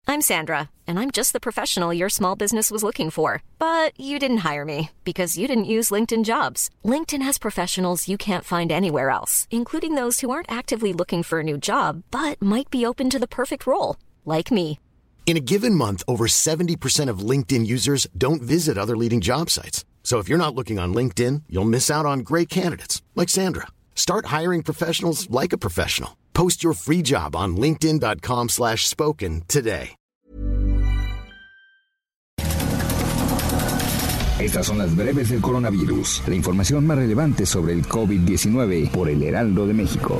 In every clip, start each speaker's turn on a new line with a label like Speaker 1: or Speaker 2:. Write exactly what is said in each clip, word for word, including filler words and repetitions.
Speaker 1: I'm Sandra, and I'm just the professional your small business was looking for. But you didn't hire me because you didn't use LinkedIn Jobs. LinkedIn has professionals you can't find anywhere else, including those who aren't actively looking for a new job, but might be open to the perfect role, like me.
Speaker 2: In a given month, over seventy percent of LinkedIn users don't visit other leading job sites. So if you're not looking on LinkedIn, you'll miss out on great candidates, like Sandra. Start hiring professionals like a professional. Post your free job on linkedin.com slash spoken today.
Speaker 3: Estas son las breves del coronavirus, la información más relevante sobre el COVID diecinueve por el Heraldo de México.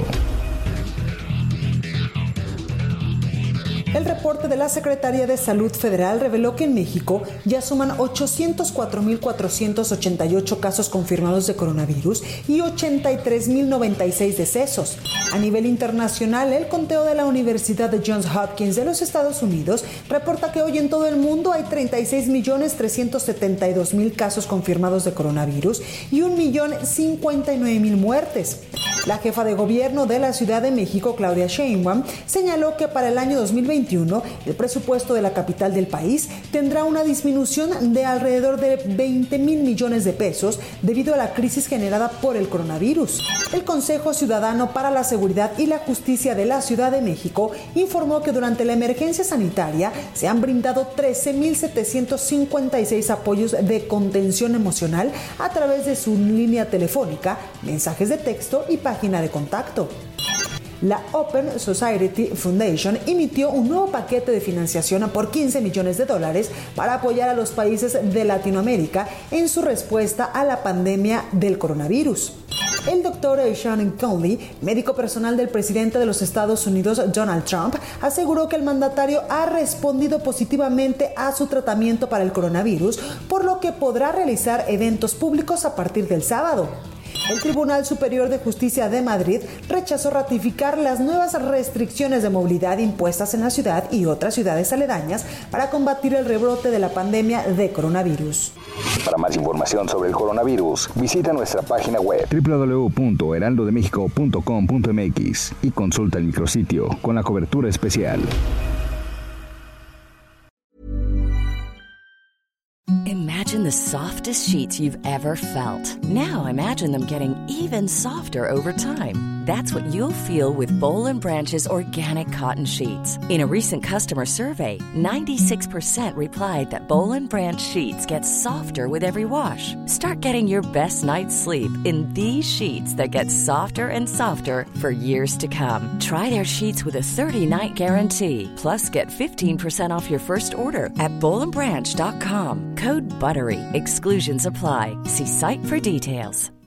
Speaker 4: El reporte de la Secretaría de Salud Federal reveló que en México ya suman ochocientos cuatro mil cuatrocientos ochenta y ocho casos confirmados de coronavirus y ochenta y tres mil noventa y seis decesos. A nivel internacional, el conteo de la Universidad de Johns Hopkins de los Estados Unidos reporta que hoy en todo el mundo hay treinta y seis millones trescientos setenta y dos mil casos confirmados de coronavirus y un millón cincuenta y nueve mil muertes. La jefa de gobierno de la Ciudad de México, Claudia Sheinbaum, señaló que para el año dos mil veintiuno el presupuesto de la capital del país tendrá una disminución de alrededor de veinte mil millones de pesos debido a la crisis generada por el coronavirus. El Consejo Ciudadano para la Seguridad y la Justicia de la Ciudad de México informó que durante la emergencia sanitaria se han brindado trece mil setecientos cincuenta y seis apoyos de contención emocional a través de su línea telefónica, mensajes de texto y página de contacto. La Open Society Foundation emitió un nuevo paquete de financiación por quince millones de dólares para apoyar a los países de Latinoamérica en su respuesta a la pandemia del coronavirus. El doctor Sean Conley, médico personal del presidente de los Estados Unidos, Donald Trump, aseguró que el mandatario ha respondido positivamente a su tratamiento para el coronavirus, por lo que podrá realizar eventos públicos a partir del sábado. El Tribunal Superior de Justicia de Madrid rechazó ratificar las nuevas restricciones de movilidad impuestas en la ciudad y otras ciudades aledañas para combatir el rebrote de la pandemia de coronavirus.
Speaker 3: Para más información sobre el coronavirus, visita nuestra página web doble u doble u doble u punto heraldo de méxico punto com punto m x y consulta el micrositio con la cobertura especial.
Speaker 5: Imagine the softest sheets you've ever felt. Now imagine them getting even softer over time. That's what you'll feel with Boll and Branch's organic cotton sheets. In a recent customer survey, ninety-six percent replied that Boll and Branch sheets get softer with every wash. Start getting your best night's sleep in these sheets that get softer and softer for years to come. Try their sheets with a thirty-night guarantee. Plus, get fifteen percent off your first order at boll and branch dot com. Code BUTTERY. Exclusions apply. See site for details.